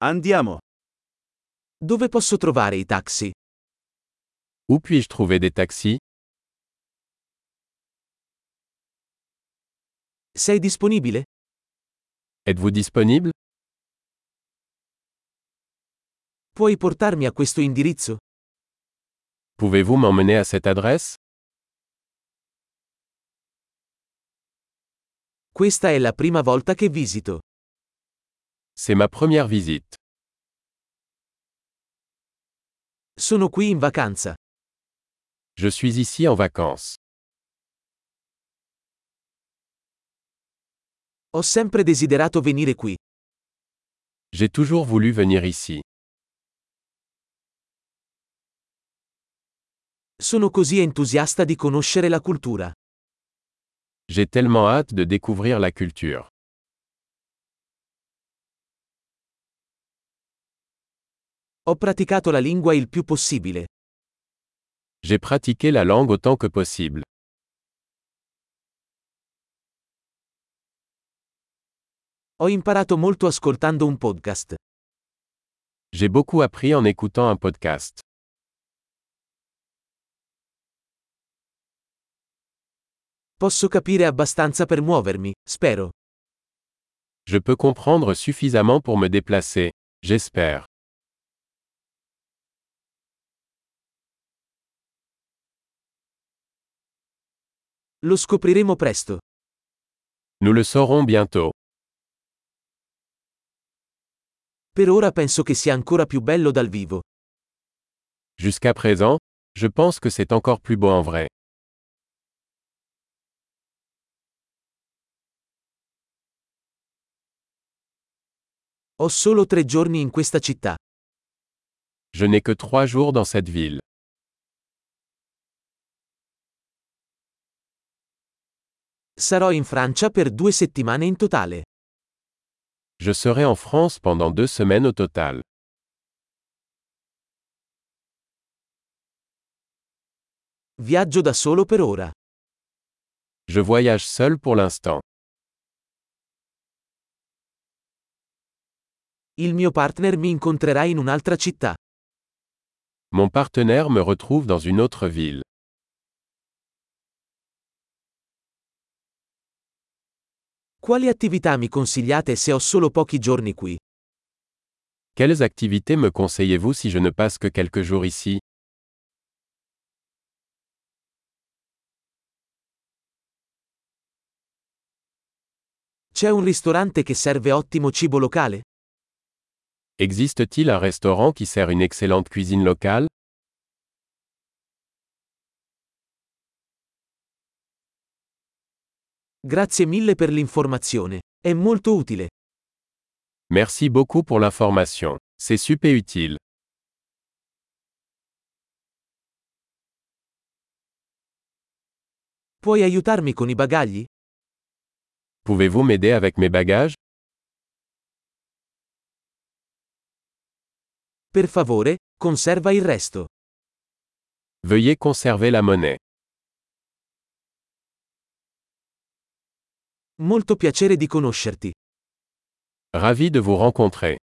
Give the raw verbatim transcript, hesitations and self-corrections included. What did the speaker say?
Andiamo. Dove posso trovare i taxi? Où puis-je trouver des taxis? Sei disponibile? Êtes-vous disponible? Puoi portarmi a questo indirizzo? Pouvez-vous m'emmener à cette adresse? Questa è la prima volta che visito. C'est ma première visite. Sono qui in vacanza. Je suis ici en vacances. Ho sempre desiderato venire qui. J'ai toujours voulu venir ici. Sono così entusiasta di conoscere la cultura. J'ai tellement hâte de découvrir la culture. Ho praticato la lingua il più possibile. J'ai pratiqué la langue autant que possible. Ho imparato molto ascoltando un podcast. J'ai beaucoup appris en écoutant un podcast. Posso capire abbastanza per muovermi, spero. Je peux comprendre suffisamment pour me déplacer, j'espère. Lo scopriremo presto. Nous le saurons bientôt. Per ora penso che sia ancora più bello dal vivo. Jusqu'à présent, je pense que c'est encore plus beau en vrai. Ho solo tre giorni in questa città. Je n'ai que trois jours dans cette ville. Sarò in Francia per due settimane in totale. Je serai en France pendant deux semaines au total. Viaggio da solo per ora. Je voyage seul pour l'instant. Il mio partner mi incontrerà in un'altra città. Mon partenaire me retrouve dans une autre ville. Quali attività mi consigliate se ho solo pochi giorni qui? Quelles activités me conseillez-vous si je ne passe que quelques jours ici? C'è un ristorante che serve ottimo cibo locale? Existe-t-il un restaurant qui sert une excellente cuisine locale? Grazie mille per l'informazione. È molto utile. Merci beaucoup pour l'information. C'est super utile. Puoi aiutarmi con i bagagli? Pouvez-vous m'aider avec mes bagages? Per favore, conserva il resto. Veuillez conserver la monnaie. Molto piacere di conoscerti. Ravi de vous rencontrer.